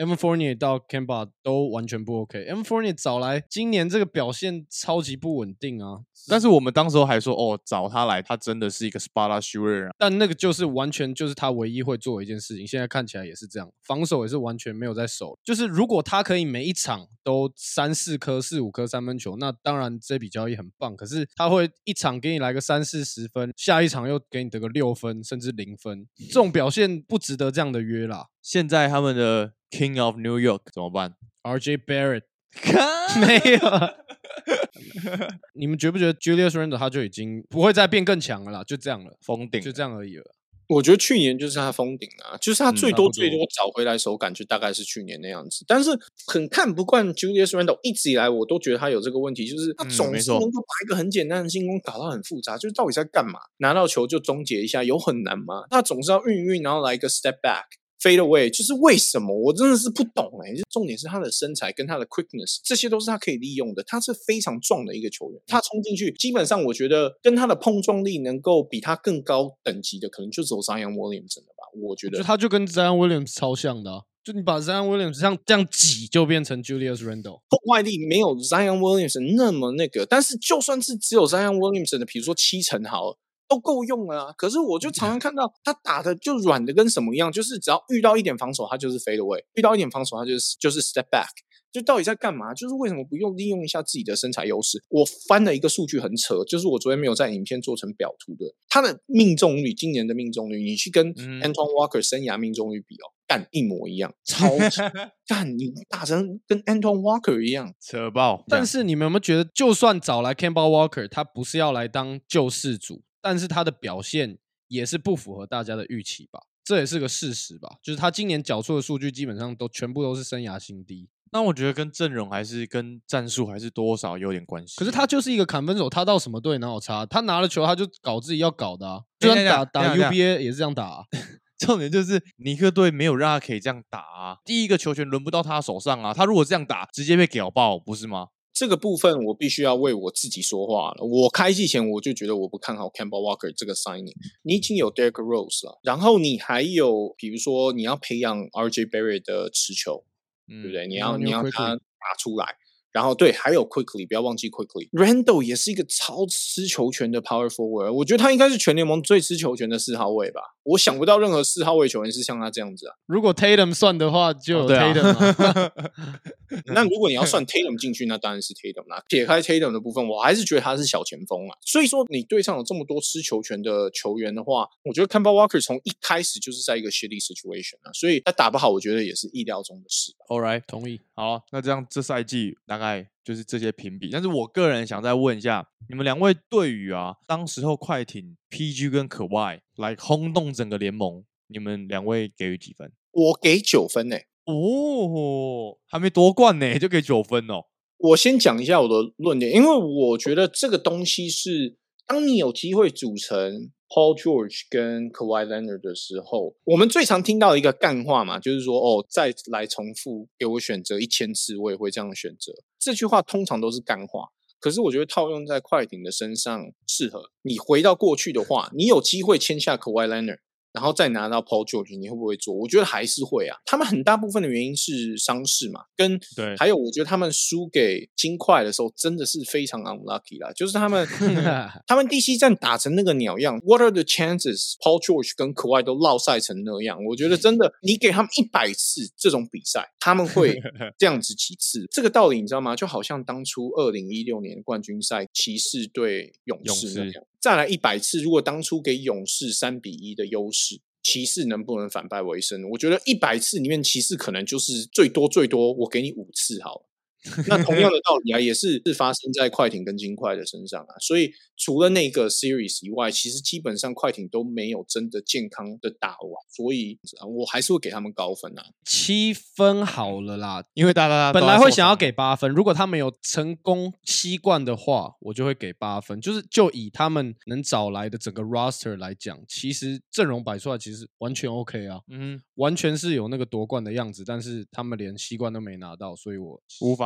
Evan Fournier 到 Kemba 都完全不 OK。Evan Fournier 找来今年这个表现超级不稳定啊， 但是我们当时候还说，哦，找他来，他真的是一个 spot shooter 啊。 但那个就是完全就是他唯一会做的一件事情，现在看起来也是这样，防守也是完全没有在守。就是如果他可以每一场都3-4颗、4-5颗三分球，那当然这笔交易很棒。可是他会一场给你来个30-40分，下一场又给你得个6分甚至0分，这种表现不值得这样的约啦。 现在他们的 King of New York 怎么办 ？RJ Barrett 没有。你们觉不觉得 Julius Randle 他就已经不会再变更强了啦？就这样了， 封顶， 就这样而已了。 我觉得去年就是他封顶啊，就是他最多找回来手感就大概是去年那样子。但是很看不惯 Julius Randle， 一直以来我都觉得他有这个问题，就是他总是能够把一个很简单的进攻搞到很复杂，就是到底在干嘛？拿到球就终结一下，有很难吗？他总是要运，然后来一个 step back。Fade away， 就是为什么我真的是不懂重点是他的身材跟他的 quickness， 这些都是他可以利用的。他是非常壮的一个球员，他冲进去，基本上我觉得跟他的碰撞力能够比他更高等级的，可能就只有 Zion Williamson 了吧？我觉得他就跟 Zion Williams 超像的啊。就你把 Zion Williams 这样挤，就变成 Julius Randle。 破坏力没有 Zion Williamson 那么那个，但是就算是只有 Zion Williamson 的，比如说70%好了。都够用了啊！可是我就常常看到他打的就软的跟什么一样，就是只要遇到一点防守，他就是 fade away； 遇到一点防守，他就是 step back。就到底在干嘛？就是为什么不利用一下自己的身材优势？我翻了一个数据很扯，就是我昨天没有在影片做成表图的，他的命中率，今年的命中率，你去跟 Antoine Walker 生涯命中率比哦，干一模一样，超级干你打成跟 Antoine Walker 一样， 扯爆。 但是你们有没有觉得，就算找来 Kemba Walker， 他不是要来当救世主？但是他的表现也是不符合大家的预期吧，这也是个事实吧。就是他今年缴出的数据基本上全部都是生涯新低。 那我觉得跟阵容还是跟战术还是多少有点关系。 可是他就是一个砍分手，他到什么队哪有差？他拿了球他就搞自己要搞的啊，就算打 UBA 也是这样打啊。 重点就是尼克队没有让他可以这样打啊，第一个球权轮不到他手上啊，他如果这样打，直接被屌爆，不是吗？ 这个部分我必须要为我自己说话了。我开季前我就觉得我不看好 Kemba Walker 这个 signing。你已经有 Derrick Rose 了，然后你还有比如说你要培养 RJ Barrett 的持球，对不对？你要他打出来。然后对，还有 Quickly， 不要忘记 Quickly。Randle 也是一个超吃球权的 Power Forward， 我觉得他应该是全联盟最吃球权的4号位吧。我想不到任何4号位球员是像他这样子啊。 如果 Tatum 算的话，就有 Tatum 啊。 那如果你要算 Tatum 进去，那当然是 Tatum 啦。撇开 Tatum 的部分，我还是觉得他是小前锋啊。所以说，你队上有这么多吃球权的球员的话，我觉得 Kemba Walker 从一开始就是在一个 shitty situation 啊，所以他打不好，我觉得也是意料中的事。 All right， 同意。 好，那这样这赛季大概就是这些评比。但是我个人想再问一下，你们两位对于当时候快艇 PG 跟可外来轰动整个联盟，你们两位给予几分？ 我给9分欸。 哦，还没夺冠呢，就给9分哦。 我先讲一下我的论点，因为我觉得这个东西是，当你有机会组成 Paul George 跟 Kawhi Leonard 的时候，我们最常听到的一个干话嘛，就是说再来重复给我选择1000次，我也会这样选择。这句话通常都是干话，可是我觉得套用在快艇的身上适合。你回到过去的话，你有机会签下 Kawhi Leonard，然后再拿到 Paul George， 你会不会做？我觉得还是会啊。他们很大部分的原因是伤势嘛，还有我觉得他们输给金块的时候真的是非常 unlucky 啦，就是他们第7战打成那个鸟样 ，What are the chances Paul George 跟 Kawhi 都落赛成那样？我觉得真的，你给他们100次这种比赛，他们会这样子几次？这个道理你知道吗？就好像当初2016年冠军赛骑士对勇士那样。再来100次，如果当初给勇士3-1的优势，骑士能不能反败为胜？我觉得100次里面，骑士可能就是最多我给你5次好了。那同样的道理啊，也是发生在快艇跟金块的身上啊。所以除了那个 series 以外，其实基本上快艇都没有真的健康的打完，所以我还是会给他们高分啊。 7分好了啦， 因为大家本来会想要给8分，如果他们有成功吸冠的话，我就会给8分。就以他们能找来的整个 roster 来讲，其实阵容摆出来其实完全 OK 啊，完全是有那个夺冠的样子，但是他们连吸冠都没拿到，所以我无法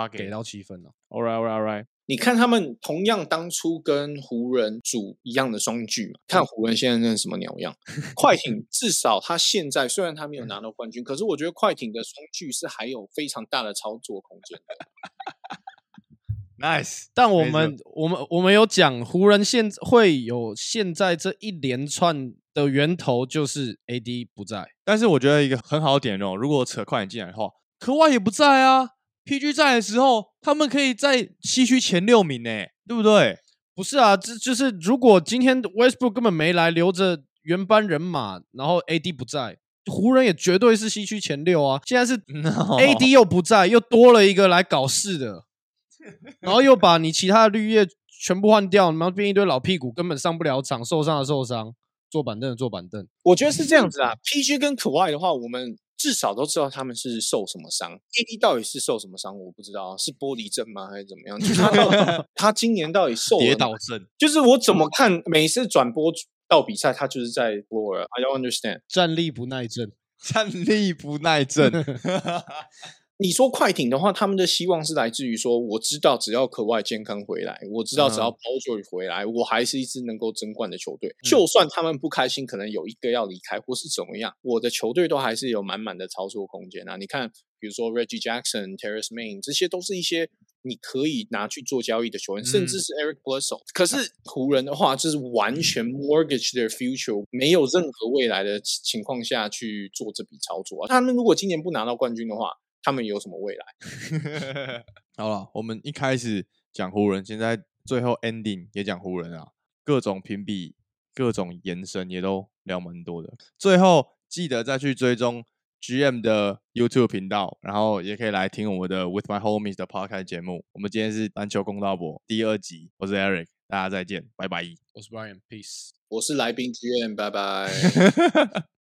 发给给到7分了。 All right。 你看他们同样当初跟湖人组一样的双巨嘛，看湖人现在那什么鸟样。快艇至少他现在虽然他没有拿到冠军，可是我觉得快艇的双巨是还有非常大的操作空间的。 Nice， 但我们有讲湖人会有现在这一连串的源头就是 AD 不在， 但是我觉得一个很好的点哦，如果扯快艇进来的话，科外也不在啊。PG 在的时候，他们可以在西区前6名呢，对不对？ 不是啊，这就是如果今天 Westbrook 根本没来，留着原班人马，然后 AD 不在，湖人也绝对是西区前6啊。现在是 AD 又不在，又多了一个来搞事的，然后又把你其他的绿叶全部换掉，然后变一堆老屁股，根本上不了场，受伤的受伤，坐板凳的坐板凳。 我觉得是这样子啊，PG 跟可外的话，我们至少都知道他们是受什么伤。AD 到底是受什么伤，我不知道，是玻璃症吗，还是怎么样？就是他今年到底受了跌倒症？ 就是我怎么看，每次转播到比赛，他就是在 floor。I don't understand。 站立不耐症， 站立不耐症。 你说快艇的话，他们的希望是来自于说，我知道只要可外健康回来，我知道只要 Paul George 回来，我还是一支能够争冠的球队。就算他们不开心，可能有一个要离开或是怎么样，我的球队都还是有满满的操作空间啊。你看，比如说 Reggie Jackson、Terrence Mann， 这些都是一些你可以拿去做交易的球员，甚至是 Eric Bledsoe。可是湖人的话，就是完全 mortgage their future， 没有任何未来的情况下去做这笔操作啊。他们如果今年不拿到冠军的话，他们有什么未来？ 好了，我们一开始讲湖人，现在最后 ending 也讲湖人啊，各种评比、各种延伸也都聊蛮多的。最后记得再去追踪 GM 的 YouTube 频道，然后也可以来听我们的 With My Homies 的 Podcast 节目。我们今天是篮球公道博第2集，我是 Eric， 大家再见，拜拜。 我是 Brian，Peace。 我是来宾 GM， 拜拜。